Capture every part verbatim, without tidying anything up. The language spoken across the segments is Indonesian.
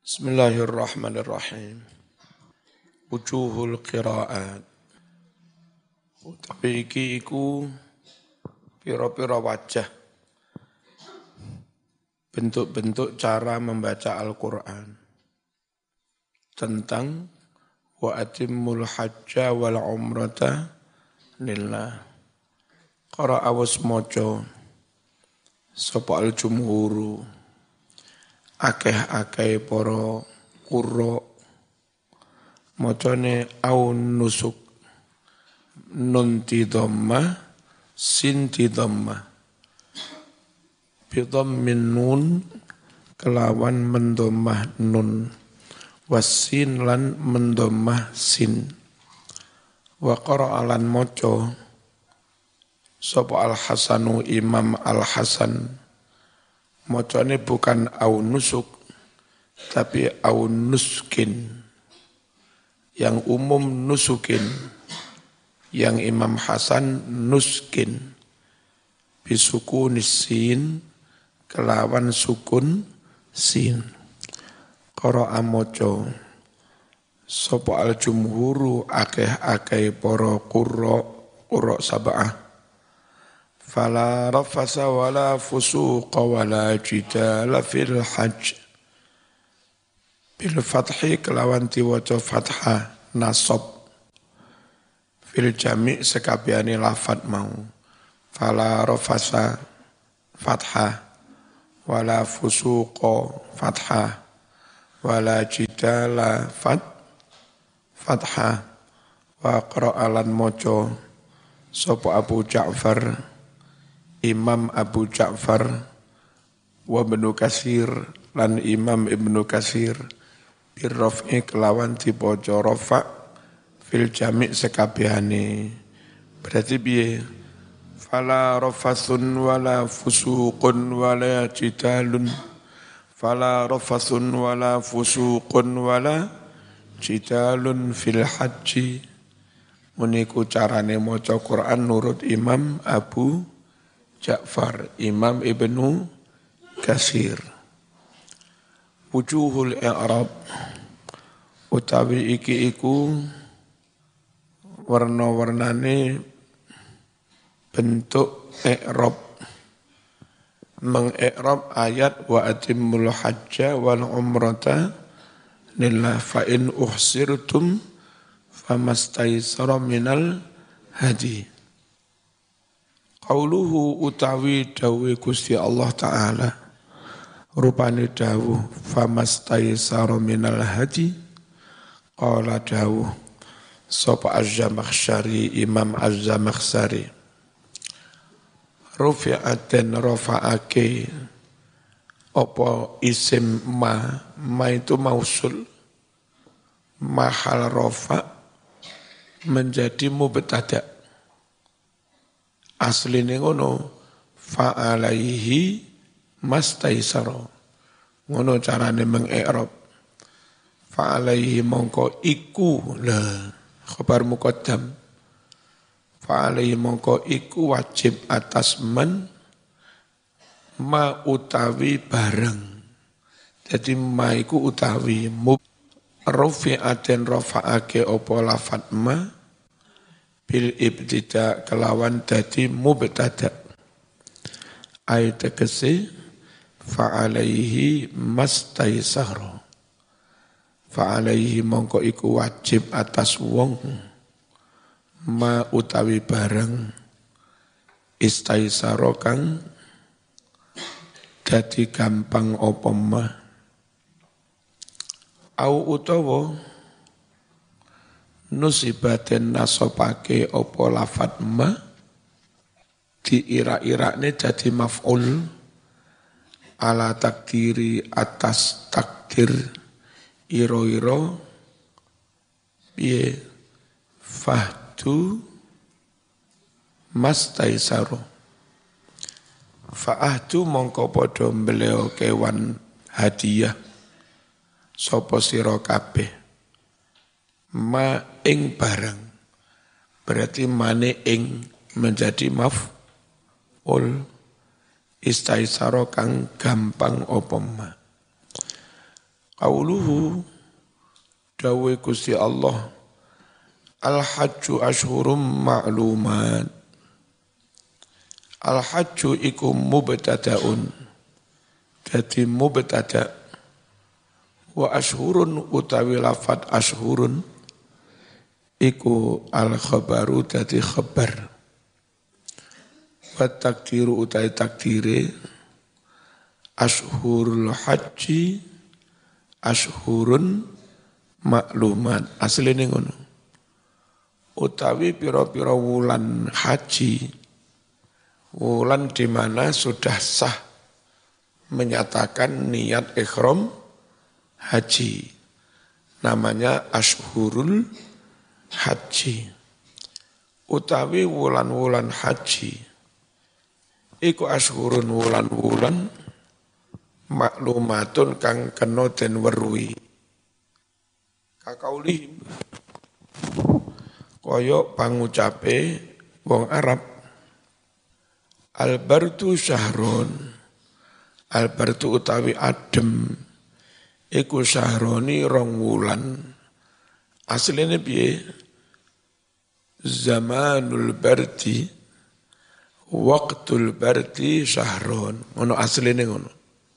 Bismillahirrahmanirrahim. Wujuhul qiraat. Utawi iki iku pira-pira wajah bentuk-bentuk cara membaca Al-Qur'an. Tentang wa atimmul hajja wal umrata lillah. Qara'a wasmaca sapa al-jumhuru akeh-akeh para qurra macane aun nusuk nun ti dhamma sin ti dhamma bi dhammin nun kelawan mendomah nun wasin lan mendomah sin wa qara'a lan maca sapa al-Hasanu Imam Al-Hasan macane bukan au nusuk, tapi au nuskin. Yang umum nusukin, yang Imam Hasan nuskin. Bisuku nisin, kelawan sukun sin. Qara'a moco, sopo al-jumhuru akeh-akeh poro qurra, qurra sab'ah. Fala rafasa wala fusuqa wala jidala fil hajj. Bil fathi kelawan diwaca fathah nasab. Fil jami' sekabiani lafad mau. Fala rafasa fathah. Wala fusuqa fathah. Wala jidala fat fathah. Wa qra'alan moco sopo Abu Ja'far Imam Abu Ja'far wa Ibnu Katsir lan Imam Ibnu Katsir birraf'i kelawan dipoco rafa fil jami' sekabehane. Berarti piye? Fala rafathun wala fusuqun wala jidalun. Fala rafathun wala fusuqun wala jidalun fil haji. Muniku carane maca Quran nurut Imam Abu Ja'far, Imam Ibnu Katsir. Wujuhul i'rab utawi iki iku warna-warnane bentuk i'rab. Meng-i'rab ayat wa atimmul hajja wal umrata lillah fa in uhsirtum famastaysara minal hadi. Qauluhu utawi dawe Gusti Allah Ta'ala rupane dawuh famastaysara minal hadi qala dawuh sapa Az-Zamakhsyari Imam Az-Zamakhsyari rufi'at dan rafa'ake apa isim ma ma itu mausul mahal rafa' menjadi mubtada. Asline ngono fa'alaihi mastaisara. Ngono carane meng-i'rab. Fa'alaihi mongko iku lah khabar muqaddam. Fa'alaihi mongko iku wajib atas man ma utawi bareng. Jadi ma iku utawi mub rufi'aten rafa'ake opo lafat ma bil ibtida kelawan dadi mubtada. Ayat tegese fa'alaihi mastaisara. Fa'alaihi mongko iku wajib atas wong ma utawi barang istaisara kang dadi gampang apa ma. Au utawa nusibaten nasobake opo lafat ma diira-irane jadi maf'ul ala takdiri atas takdir iro-iro piye fahdu mastaisaru fa'ahdu mongko podo mbeleo kewan hadiah sopo siro kabeh ma ing barang berarti mane ing menjadi maf'ul istaisara kang gampang apa ma Qauluhu dawe Gusti Allah al-hajju ashhurum ma'lumat. Al-hajju iku mubtada'un. Dadi mubtada' wa ashhurun utawi lafat ashhurun iku al-khabaru dadi khabar. Wa takdiru utai takdire ashhurul haji ashhurun maklumat. Asline ngono. Utawi pira-pira wulan haji, wulan di mana sudah sah menyatakan niat ihram haji. Namanya ashhurul haji. Utawi wulan-wulan haji iku ashhurun wulan-wulan maklumatun kang kena den weruhi. Kakaulihim kaya pangucape wong Arab al-bardu syahrun. Al-bardu utawi adem iku syahroni rong wulan. Asline piye? Zamanul bardi waqtul bardi syahrun. Ngono asline ngono.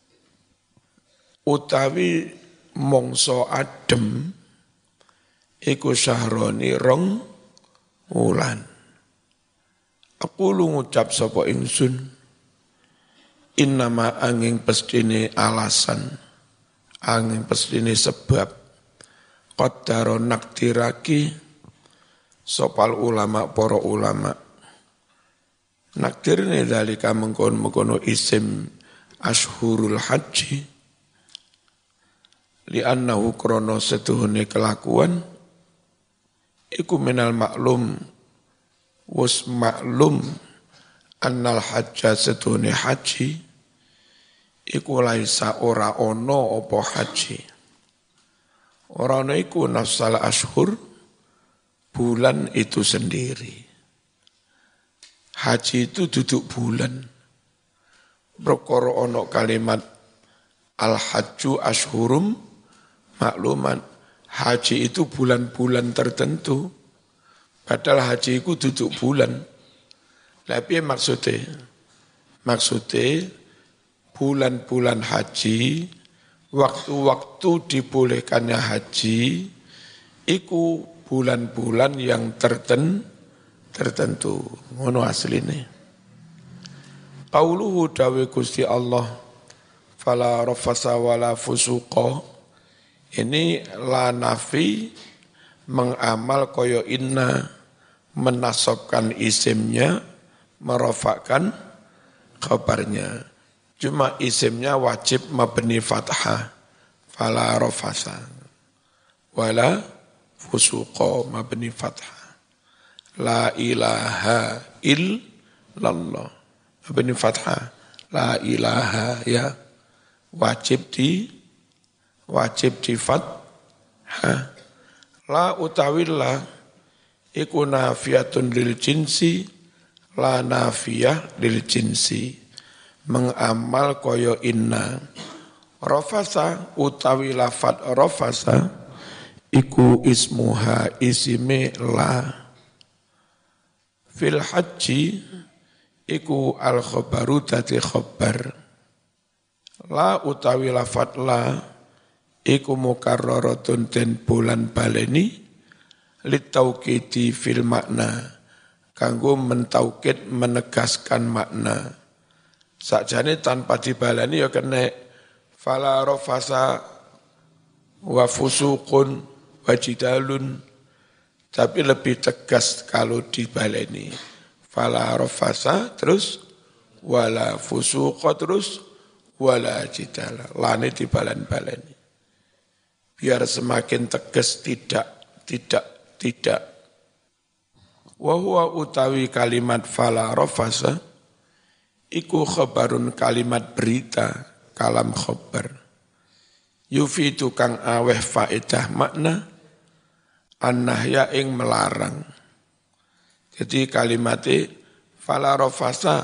Utawi mongso adem iku syahroni rong wulan. Aku lu ngucap sapa ingsun innama angin pestine alasan, angin pestine sebab qaddaro nakdiraki sopal ulama para ulama. Nakdirne dalika mengkono-mengkono isim ashhurul haji li'annahu krono setuhune kelakuan iku minal maklum wus maklum annal hajja setuhune haji iku laisa ora ono apa haji. Ora ono iku nafsal ashhur bulan itu sendiri. Haji itu duduk bulan. Perkara ono kalimat al-hajju ashhurum makluman. Haji itu bulan-bulan tertentu. Padahal haji itu duduk bulan. Tapi maksudnya, maksudnya bulan-bulan haji, waktu-waktu dibolehkannya haji, itu bulan-bulan yang terten, tertentu. Ngono asline. Qauluhu dawe Gusti Allah, fala rafasa wala fusuqa. Ini la nafi mengamal koyo inna, menasabkan isimnya, merofakkan khabarnya. Cuma isimnya wajib mabni fathah. Fala rafasa wala fusuqa mabni fathah. La ilaha illallah mabni fathah. La ilaha ya wajib di wajib di fathah. La utawillah iku nafiyatun lil jinsi, la nafiyah lil jinsi. Mengamal koyo inna. Rafasa utawi lafat rafasa iku ismuha isime la. Fil haji iku al khabaru dadi khabar. La utawi lafat la iku mukarraratun den bulan baleni litaukidi fil makna kanggo mentaukid menegaskan makna. Sakjane tanpa dibaleni ya kena fala rafasa wa fusuqun wa jidalun, tapi lebih tegas kalau dibaleni. Fala rafasa terus wala fusuqa terus wala jidala. Lane dibalen-baleni. Biar semakin tegas tidak, tidak, tidak. Wa huwa utawi kalimat fala rafasa iku khabarun kalimat berita, kalam khabar. Yufidu kang aweh faedah makna an-nahya ing melarang. Jadi kalimatnya fala rafasa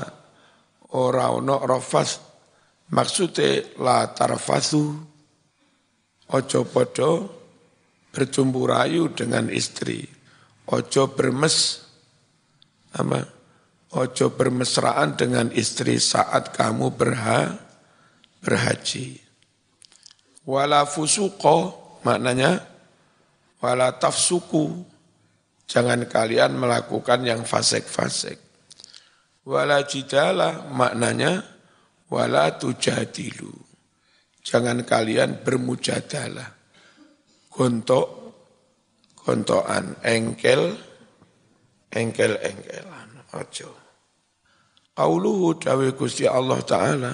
ora ono rafas, maksudnya la tarfasu ojo podo bercumbu rayu dengan istri, ojo bermes, apa? Ojo bermesraan dengan istri saat kamu berha, berhaji. Wala fusuqo, maknanya wala tafsuku, jangan kalian melakukan yang fasik-fasik. Wala jidala, maknanya wala tujadilu, jangan kalian bermujadalah. Gontok, gontokan, engkel, engkel-engkelan, ojo. Qauluhu dawe Gusti Allah Ta'ala,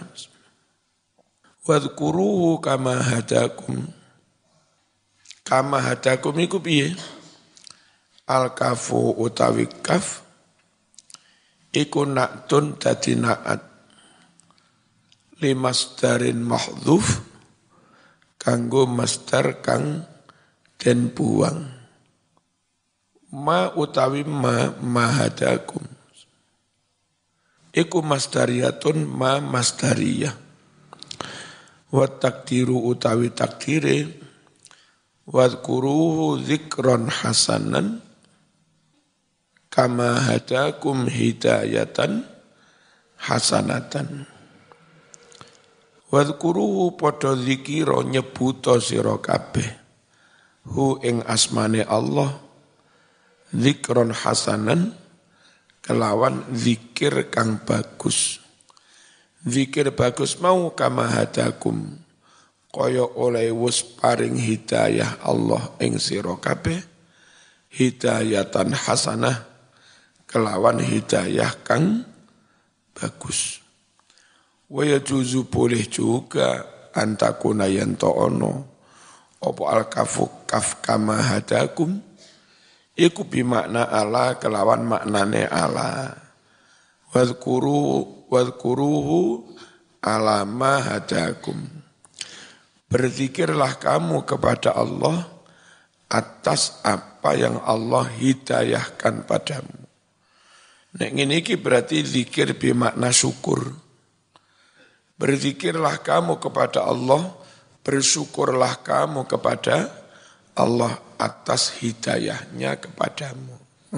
wadhkuruhu kama hadakum. Kama hadakum iku piye? Al-kafu utawi kaf, iku na'tun dadi na'at. Limasdarin mahdhuf, kanggo masdar kang den buang. Ma utawi ma mahadakum. Iku masdariyatun ma masdariyah. Wa takdiru utawi takdire. Wadhkuruhu dzikron hasanan. Kama hadakum hidayatan hasanatan. Wadhkuruhu podo dzikira nyebuto sira kabeh. Hu ing asmane Allah. Dzikron hasanan. Kelawan zikir kang bagus. Zikir bagus mau kama hadakum. Kaya oleh wus paring hidayah Allah ing sira kabeh. Hidayatan hasanah. Kelawan hidayah kang bagus. Wa yajuzu boleh juga antakuna yanto ono. Opo al-kafu kaf kama hadakum. Iku bimakna ala kelawan maknane ala. Wadhkuru wadhkuruhu ala ma hadakum. Berzikirlah kamu kepada Allah atas apa yang Allah hidayahkan padamu. Nek ngene iki berarti zikir bimakna syukur. Berzikirlah kamu kepada Allah, bersyukurlah kamu kepada Allah atas hidayahnya kepadamu.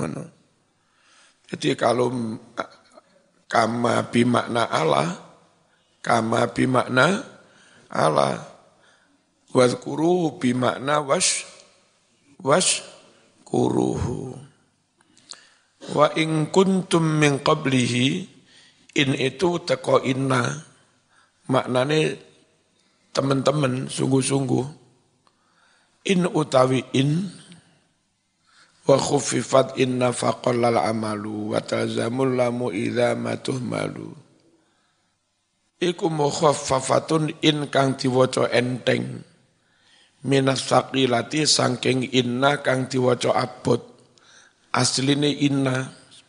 Jadi kalau kama bimakna Allah, kama bimakna Allah, wadhkuruhu bimakna wash, wash kuruhu. Wa in kuntum min qablihi, in itu teko inna, maknane teman-teman sungguh-sungguh. In utawi in wa khuffifat inna faqallal amalu wa talzamul lamu idza matuhmalu. Iku mukhaffafatun in kang diwaca enteng minas saqilati saking inna kang diwaca abot. Asline inna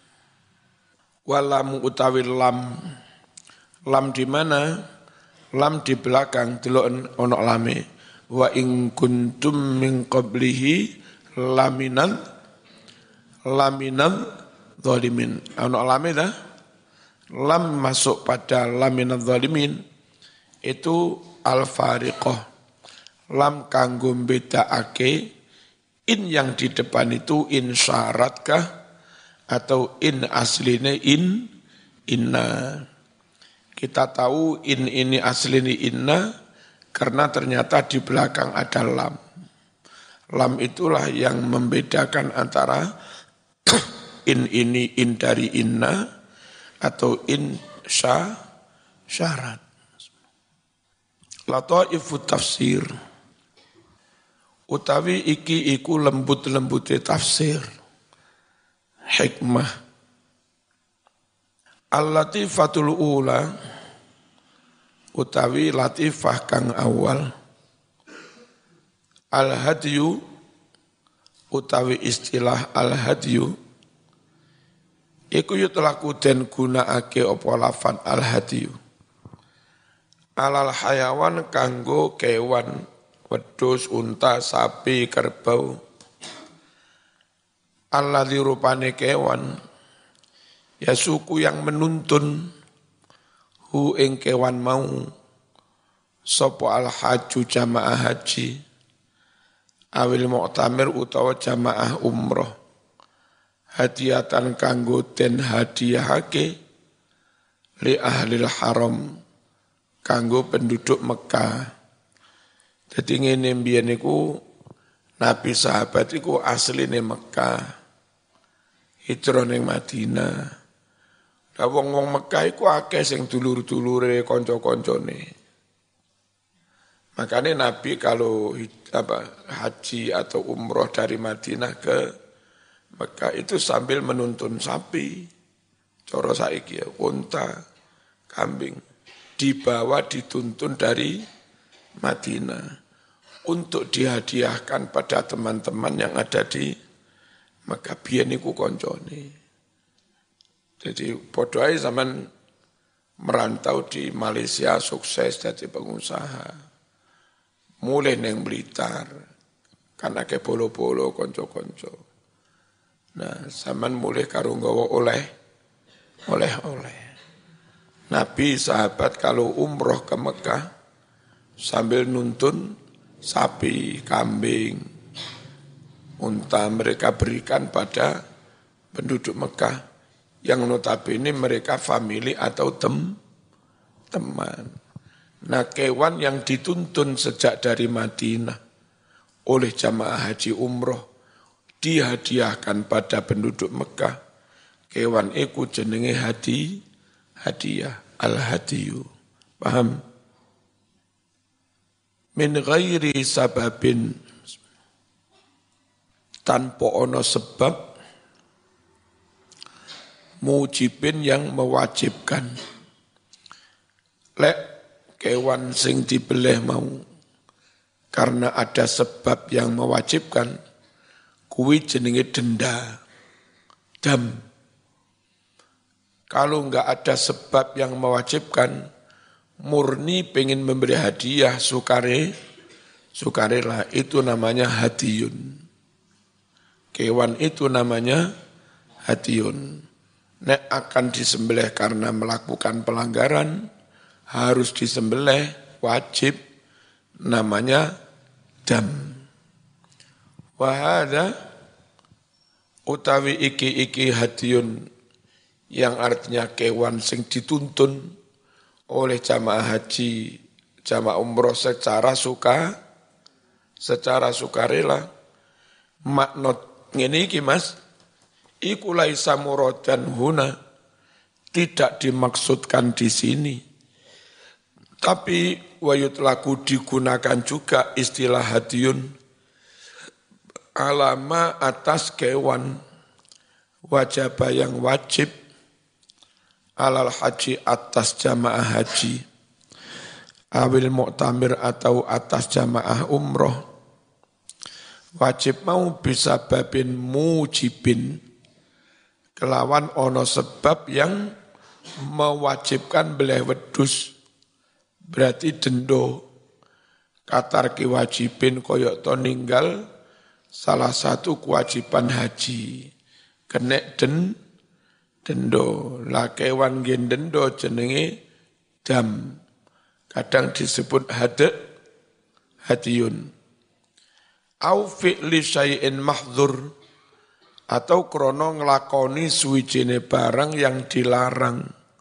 walam utawi lam. Lam di mana? Lam di belakang delok ono lame. Wa in kuntum min qablihi laminan laminan zalimin. Ono lame dah. Lam masuk pada laminan zalimin itu al-fariqah. Lam kanggo bedakake in yang di depan itu in syaratkah atau in asline in inna. Kita tahu in ini asline inna karena ternyata di belakang ada lam. Lam itulah yang membedakan antara in ini in dari inna atau in sya syarat. Lataifu tafsir. Utawi iki iku lembut-lembute tafsir. Hikmah. Al-latifatul ula. Utawi latifah kang awal. Al-hadyu. Utawi istilah al-hadyu. Iku yutlaku den gunakake apa lafan al-hadyu. Alal hayawan kanggo kewan, wedhus, unta, sapi, kerbau. Alladzi rupane kewan, ya suku yang menuntun hu ing kewan mau, sapa al-haju jamaah haji. awil mu'tamir utawa jamaah umroh hadiatan kanggo den hadiahake li ahlil haram kanggo penduduk Mekah. Jadi ngene mbiyen niku Nabi sahabat iku asline Mekah. Hijrah ning Madinah. Lah wong-wong Mekah iku akeh sing dulur-dulure kanca-kancane. Makanya Nabi kalau apa, haji atau umroh dari Madinah ke Mekah itu sambil menuntun sapi, coro saiki ya, unta, kambing, dibawa dituntun dari Madinah untuk dihadiahkan pada teman-teman yang ada di Mekah. Biyen niku koncone. Jadi padha ae zaman merantau di Malaysia sukses jadi pengusaha. Mulai neng Blitar, kan akeh bolo-bolo konco-konco. Nah, zaman mulai karo nggawa oleh, oleh-oleh. Nabi sahabat kalau umroh ke Mekah sambil nuntun sapi, kambing, unta mereka berikan pada penduduk Mekah yang notabene mereka famili atau tem, teman. Nah, kewan yang dituntun sejak dari Madinah oleh jamaah haji umroh dihadiahkan pada penduduk Mekah. Kewan iku jenenge hadi, hadiah, al-hadiyu. Paham? Min ghairi sababin, tanpa ono sebab mujibin yang mewajibkan. Lek kewan sing dibeleh mau karena ada sebab yang mewajibkan, kuwi jenenge denda, dam. Kalau enggak ada sebab yang mewajibkan, murni pengen memberi hadiah sukare, sukarela, itu namanya hadiyun. Kewan itu namanya hadiyun. Nek akan disembelih karena melakukan pelanggaran, harus disembelih, wajib, namanya dam. Wahada utawi iki-iki hadiyun, yang artinya kewan sing dituntun oleh jamaah haji, jamaah umroh secara suka, secara sukarela. Maknot ngene iki Mas, iku laisa muradan huna, tidak dimaksudkan di sini. Tapi wayut laku digunakan juga istilah hadiyun alama atas kewan wajibah yang wajib alal haji atas jamaah haji awil mu'tamir atau atas jamaah umroh. Wajib mau bisa babin mujibin, kelawan ono sebab yang mewajibkan beleh wedus, berarti dendo. Katar kiwajibin koyok to ninggal salah satu kewajiban haji, kenek den dendo. Lah kewan gen dendo jenenge dam, kadang disebut hade hadiyun. Au fi'li syai'in mahdzur, atau krono nglakoni suwijine barang yang dilarang.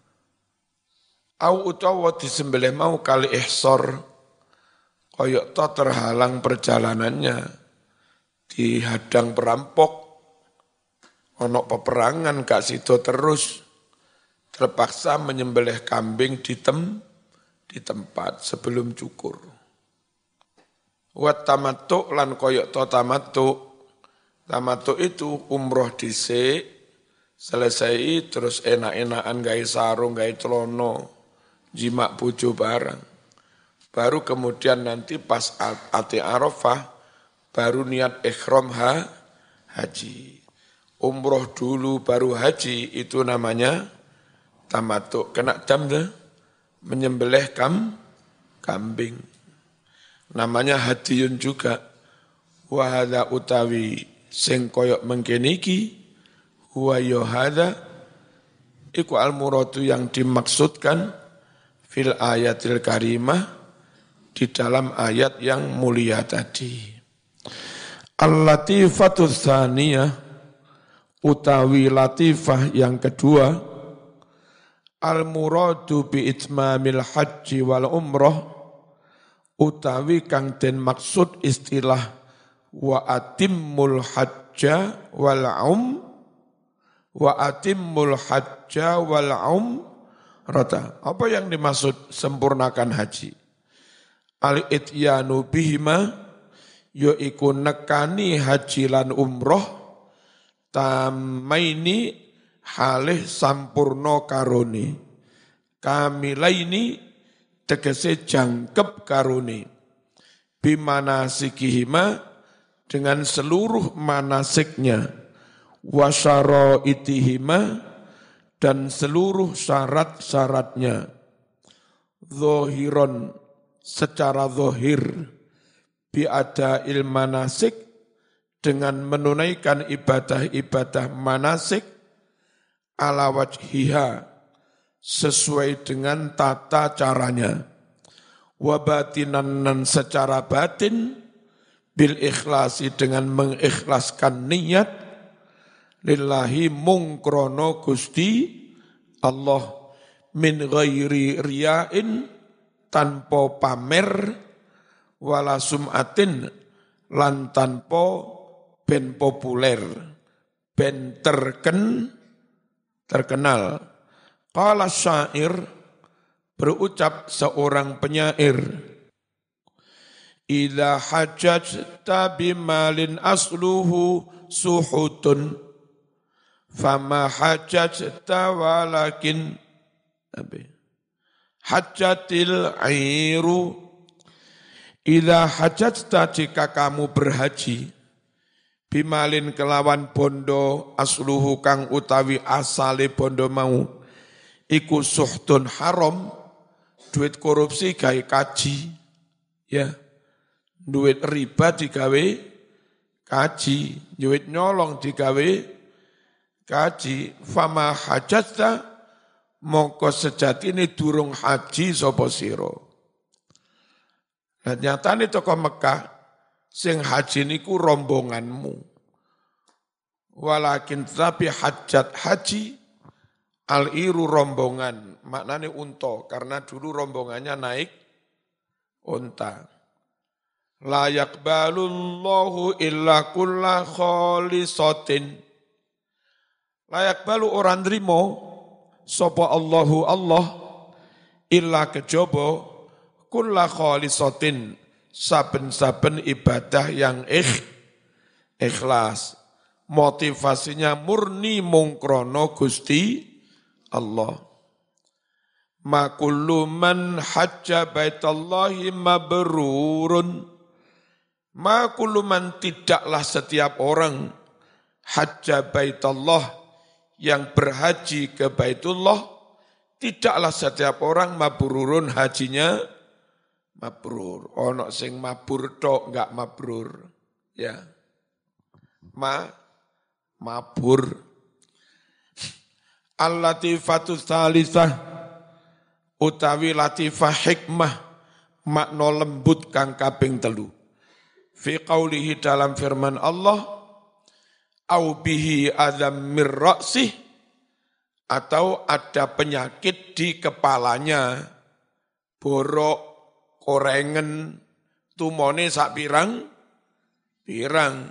Au utawa disembelih mau kali ihsor, koyok to terhalang perjalanannya, dihadang perampok, ono peperangan gak sido terus, terpaksa menyembelih kambing di tem, di tempat sebelum cukur. Wat tamattu lan koyok to tamattu, tamattu itu umroh dhisik, selesai terus enak-enakan gawe sarung, gawe celono, jimak bojo barang. Baru kemudian nanti pas ati Arafah, baru niat ikhram ha, haji. Umroh dulu baru haji, itu namanya tamattu. Kena dam deh, menyembelih kam, kambing. Namanya hadiyun juga. Wahada utawi sing koyok mengkeniki, huwa yohada, iku al-muradu yang dimaksudkan fil ayatil karimah, di dalam ayat yang mulia tadi. Al-latifatu tsaniyah utawi latifah yang kedua, al-muradu bi itmamil haji wal umrah utawi kang den maksud istilah wa atimmul hajja wal um wa atimmul hajja wal um rata. Apa yang dimaksud sempurnakan haji? Al-ityanu bihima yaiku nekani haji lan umroh tamaini halih sampurno karone kamilaini tegese jangkep karone bimana sikihima dengan seluruh manasiknya wasyara itihima dan seluruh syarat-syaratnya zohiron secara zohir biada ilmanasik dengan menunaikan ibadah-ibadah manasik ala wajhiha sesuai dengan tata caranya wabatinan dan secara batin bil ikhlasi dengan mengikhlaskan niat lillahi mungkrono Gusti Allah min ghairi riyain tanpa pamer wala sum'atin lan tanpa ben populer ben terken terkenal. Qala syair berucap seorang penyair idza hajjata bimalin asluhu suhutun fama hajjata walakin hajjatil airu. Idza hajjata jika kamu berhaji bimalin kelawan bondo asluhu kang utawi asale bondo mau iku suhtun haram duit korupsi gawe kaji ya duit riba digawe kaji duit nyolong digawe kaji fama hajjata mongko sejatine durung haji sapa sira. Nah, nyatane tokoh Mekah sing haji niku rombonganmu. Walakin tapi hajat haji al-iru rombongan, maknane unta karena dulu rombongannya naik unta. La yaqbalullahu illa kulla khalisatin. La yaqbalu orang nrimo sapa Allahu Allah illa kejaba kulla khalisatin saben-saben ibadah yang ikh, ikhlas motivasinya murni mungkrono Gusti Allah. Ma kullu man hajja baitallahi mabrurun ma kullu man tidaklah setiap orang hajja baitallah yang berhaji ke Baitullah tidaklah setiap orang mabrurun hajinya mabrur. Ono sing mabur tok enggak mabrur. Ya. Ma mabur. Al-latifatu tsalitsah utawi latifah hikmah makna lembut kang kaping telu. Fi qaulihi dalam firman Allah au bihi adzam mir ra'sih atau ada penyakit di kepalanya borok korengen tumone sak pirang pirang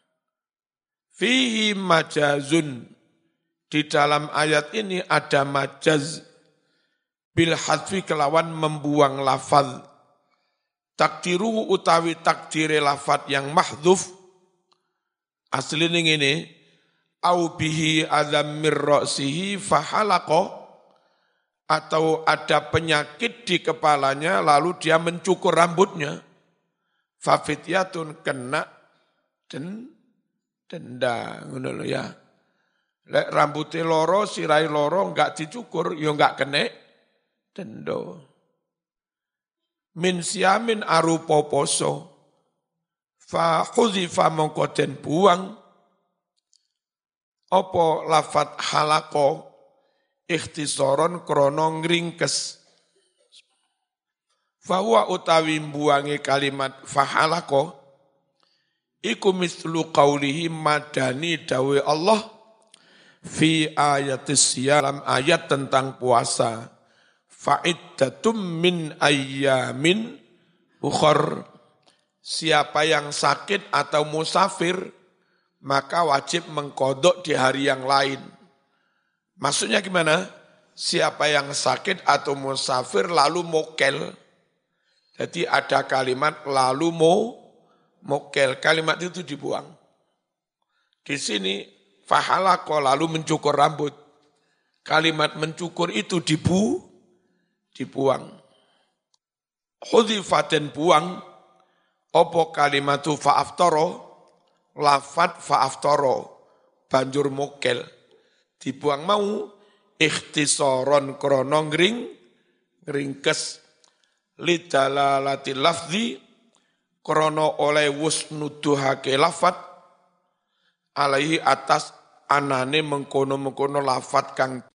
fihi majazun di dalam ayat ini ada majaz bil hadfi kelawan membuang lafaz takdiru utawi takdire lafaz yang mahdzuf asline ngene au bihi adzam mir ra'sihi fahalaqa atau ada penyakit di kepalanya lalu dia mencukur rambutnya fafityatun kena den denda ngono lho ya lek rambute loro sirai loro enggak dicukur ya enggak kena denda min siamin arupa poso fa khuzifa mongko den buang apa lafat halaqo ikhtisaron krono ngringkes. Fahuwa utawi mbuangi kalimat fahalako Iku mislu qawlihi madani dawe Allah fi ayatis dalam ayat tentang puasa. Fa'iddatum min ayyamin ukhar. Siapa yang sakit atau musafir, maka wajib mengkodok di hari yang lain. Maksudnya gimana? Siapa yang sakit atau musafir lalu mokel. Jadi ada kalimat lalu mo, mokel. Kalimat itu dibuang. Di sini fahalako lalu mencukur rambut. Kalimat mencukur itu dibu, dibuang. Hudhifaten buang. Opo kalimatu fa'aftoro, lafat fa'aftoro, banjur mokel. Dibuang mau, ikhtisaron krono ngring, ngringkes, lidalalati lafzi, krono oleh wusnuduhake lafat, alaihi atas anane mengkono-mengkono lafat kang